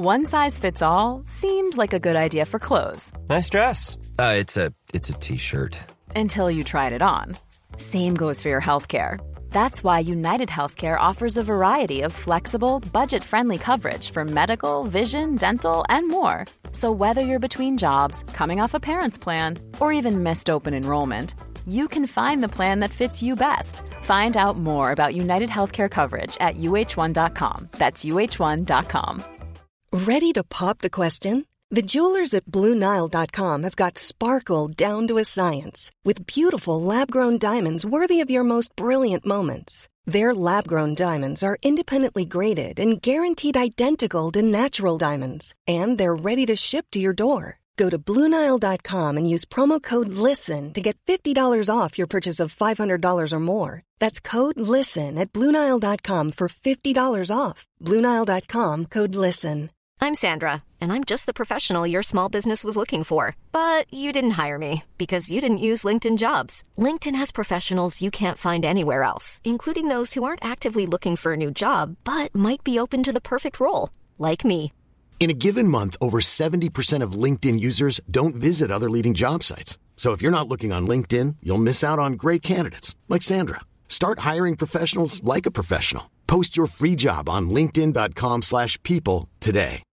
One size fits all seemed like a good idea for clothes. Nice dress. It's a t-shirt. Until you tried it on. Same goes for your healthcare. That's why United Healthcare offers a variety of flexible, budget-friendly coverage for medical, vision, dental, and more. So whether you're between jobs, coming off a parent's plan, or even missed open enrollment, you can find the plan that fits you best. Find out more about United Healthcare coverage at uh1.com. That's uh1.com. Ready to pop the question? The jewelers at BlueNile.com have got sparkle down to a science with beautiful lab-grown diamonds worthy of your most brilliant moments. Their lab-grown diamonds are independently graded and guaranteed identical to natural diamonds, and they're ready to ship to your door. Go to BlueNile.com and use promo code LISTEN to get $50 off your purchase of $500 or more. That's code LISTEN at BlueNile.com for $50 off. BlueNile.com, code LISTEN. I'm Sandra, and I'm just the professional your small business was looking for. But you didn't hire me because you didn't use LinkedIn Jobs. LinkedIn has professionals you can't find anywhere else, including those who aren't actively looking for a new job, but might be open to the perfect role, like me. In a given month, over 70% of LinkedIn users don't visit other leading job sites. So if you're not looking on LinkedIn, you'll miss out on great candidates like Sandra. Start hiring professionals like a professional. Post your free job on linkedin.com/people today.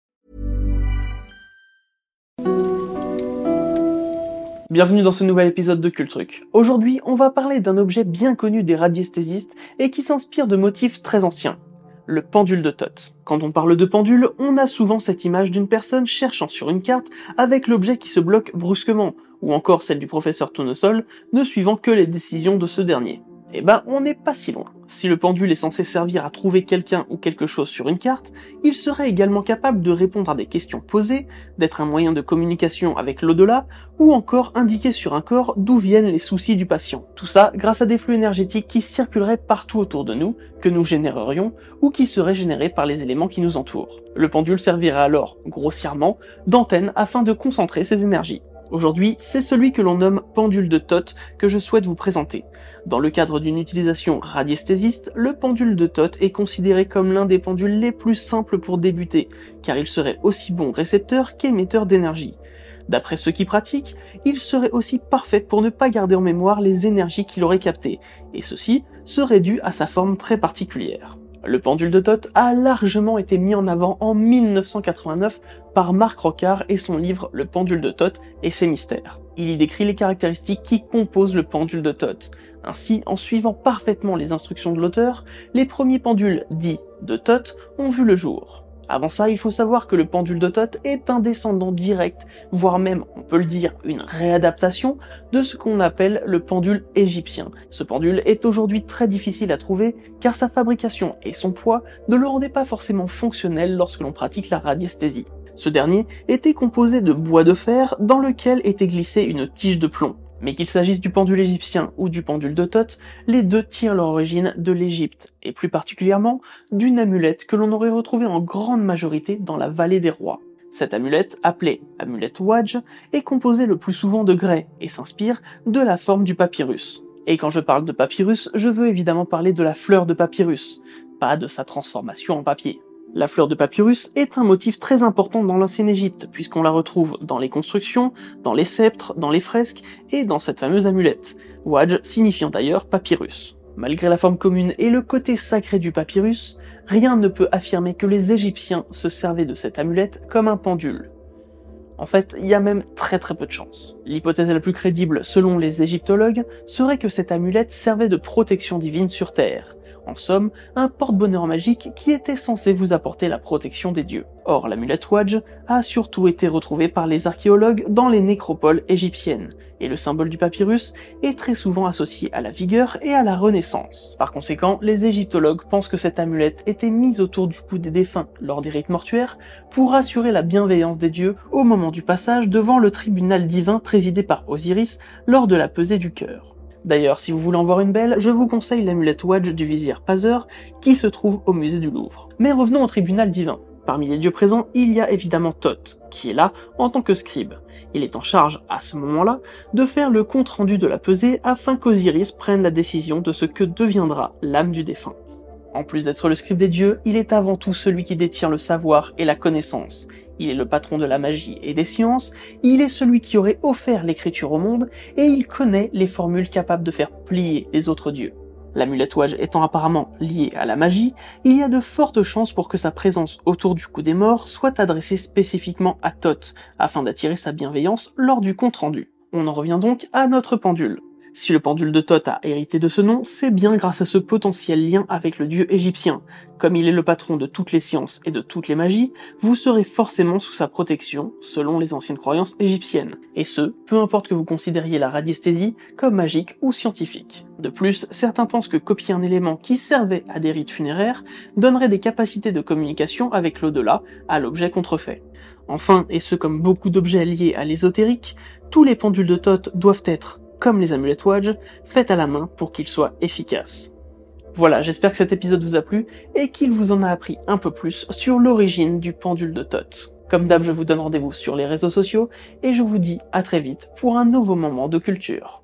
Bienvenue dans ce nouvel épisode de Cultruc. Aujourd'hui, on va parler d'un objet bien connu des radiesthésistes et qui s'inspire de motifs très anciens. Le pendule de Thoth. Quand on parle de pendule, on a souvent cette image d'une personne cherchant sur une carte avec l'objet qui se bloque brusquement, ou encore celle du professeur Tournesol, ne suivant que les décisions de ce dernier. Eh ben, on n'est pas si loin. Si le pendule est censé servir à trouver quelqu'un ou quelque chose sur une carte, il serait également capable de répondre à des questions posées, d'être un moyen de communication avec l'au-delà, ou encore indiquer sur un corps d'où viennent les soucis du patient. Tout ça grâce à des flux énergétiques qui circuleraient partout autour de nous, que nous générerions, ou qui seraient générés par les éléments qui nous entourent. Le pendule servirait alors, grossièrement, d'antenne afin de concentrer ces énergies. Aujourd'hui, c'est celui que l'on nomme pendule de Thoth que je souhaite vous présenter. Dans le cadre d'une utilisation radiesthésiste, le pendule de Thoth est considéré comme l'un des pendules les plus simples pour débuter, car il serait aussi bon récepteur qu'émetteur d'énergie. D'après ceux qui pratiquent, il serait aussi parfait pour ne pas garder en mémoire les énergies qu'il aurait captées, et ceci serait dû à sa forme très particulière. Le pendule de Thoth a largement été mis en avant en 1989 par Marc Rocard et son livre Le pendule de Thoth et ses mystères. Il y décrit les caractéristiques qui composent le pendule de Thoth. Ainsi, en suivant parfaitement les instructions de l'auteur, les premiers pendules dits de Thoth ont vu le jour. Avant ça, il faut savoir que le pendule de Thoth est un descendant direct, voire même, on peut le dire, une réadaptation de ce qu'on appelle le pendule égyptien. Ce pendule est aujourd'hui très difficile à trouver car sa fabrication et son poids ne le rendaient pas forcément fonctionnel lorsque l'on pratique la radiesthésie. Ce dernier était composé de bois de fer dans lequel était glissée une tige de plomb. Mais qu'il s'agisse du pendule égyptien ou du pendule de Thoth, les deux tirent leur origine de l'Égypte, et plus particulièrement d'une amulette que l'on aurait retrouvée en grande majorité dans la vallée des rois. Cette amulette, appelée amulette Wadj, est composée le plus souvent de grès et s'inspire de la forme du papyrus. Et quand je parle de papyrus, je veux évidemment parler de la fleur de papyrus, pas de sa transformation en papier. La fleur de papyrus est un motif très important dans l'ancienne Égypte, puisqu'on la retrouve dans les constructions, dans les sceptres, dans les fresques et dans cette fameuse amulette, Wadj signifiant d'ailleurs papyrus. Malgré la forme commune et le côté sacré du papyrus, rien ne peut affirmer que les Égyptiens se servaient de cette amulette comme un pendule. En fait, il y a même très peu de chance. L'hypothèse la plus crédible, selon les égyptologues, serait que cette amulette servait de protection divine sur Terre. En somme, un porte-bonheur magique qui était censé vous apporter la protection des dieux. Or, l'amulette Wadj a surtout été retrouvée par les archéologues dans les nécropoles égyptiennes, et le symbole du papyrus est très souvent associé à la vigueur et à la renaissance. Par conséquent, les égyptologues pensent que cette amulette était mise autour du cou des défunts lors des rites mortuaires pour assurer la bienveillance des dieux au moment du passage devant le tribunal divin présidé par Osiris lors de la pesée du cœur. D'ailleurs, si vous voulez en voir une belle, je vous conseille l'amulette Wadj du vizir Paseur, qui se trouve au musée du Louvre. Mais revenons au tribunal divin. Parmi les dieux présents, il y a évidemment Thoth, qui est là en tant que scribe. Il est en charge, à ce moment-là, de faire le compte-rendu de la pesée afin qu'Osiris prenne la décision de ce que deviendra l'âme du défunt. En plus d'être le scribe des dieux, il est avant tout celui qui détient le savoir et la connaissance. Il est le patron de la magie et des sciences, il est celui qui aurait offert l'écriture au monde, et il connaît les formules capables de faire plier les autres dieux. L'amulette-ouage étant apparemment lié à la magie, il y a de fortes chances pour que sa présence autour du coup des morts soit adressée spécifiquement à Thoth, afin d'attirer sa bienveillance lors du compte-rendu. On en revient donc à notre pendule. Si le pendule de Thoth a hérité de ce nom, c'est bien grâce à ce potentiel lien avec le dieu égyptien. Comme il est le patron de toutes les sciences et de toutes les magies, vous serez forcément sous sa protection, selon les anciennes croyances égyptiennes. Et ce, peu importe que vous considériez la radiesthésie comme magique ou scientifique. De plus, certains pensent que copier un élément qui servait à des rites funéraires donnerait des capacités de communication avec l'au-delà à l'objet contrefait. Enfin, et ce comme beaucoup d'objets liés à l'ésotérique, tous les pendules de Thoth doivent être, comme les amulettes-ouage, faites à la main pour qu'ils soient efficaces. Voilà, j'espère que cet épisode vous a plu et qu'il vous en a appris un peu plus sur l'origine du pendule de Thoth. Comme d'hab, je vous donne rendez-vous sur les réseaux sociaux et je vous dis à très vite pour un nouveau moment de culture.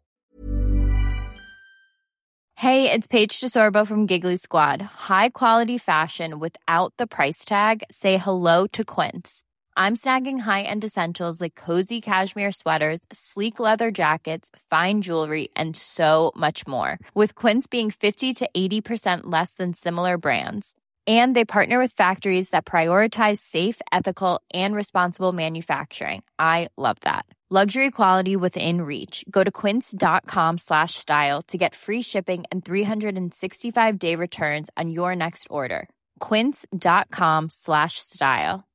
Hey, it's Paige DeSorbo from Giggly Squad. High quality fashion without the price tag. Say hello to Quince. I'm snagging high-end essentials like cozy cashmere sweaters, sleek leather jackets, fine jewelry, and so much more. With Quince being 50 to 80% less than similar brands. And they partner with factories that prioritize safe, ethical, and responsible manufacturing. I love that. Luxury quality within reach. Go to quince.com/style to get free shipping and 365-day returns on your next order. Quince.com/style.